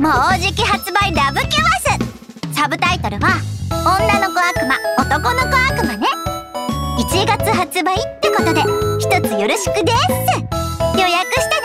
もうじき発売ラブキュアス。サブタイトルは女の子悪魔男の子悪魔ね。1月発売ってことで一つよろしくです。予約した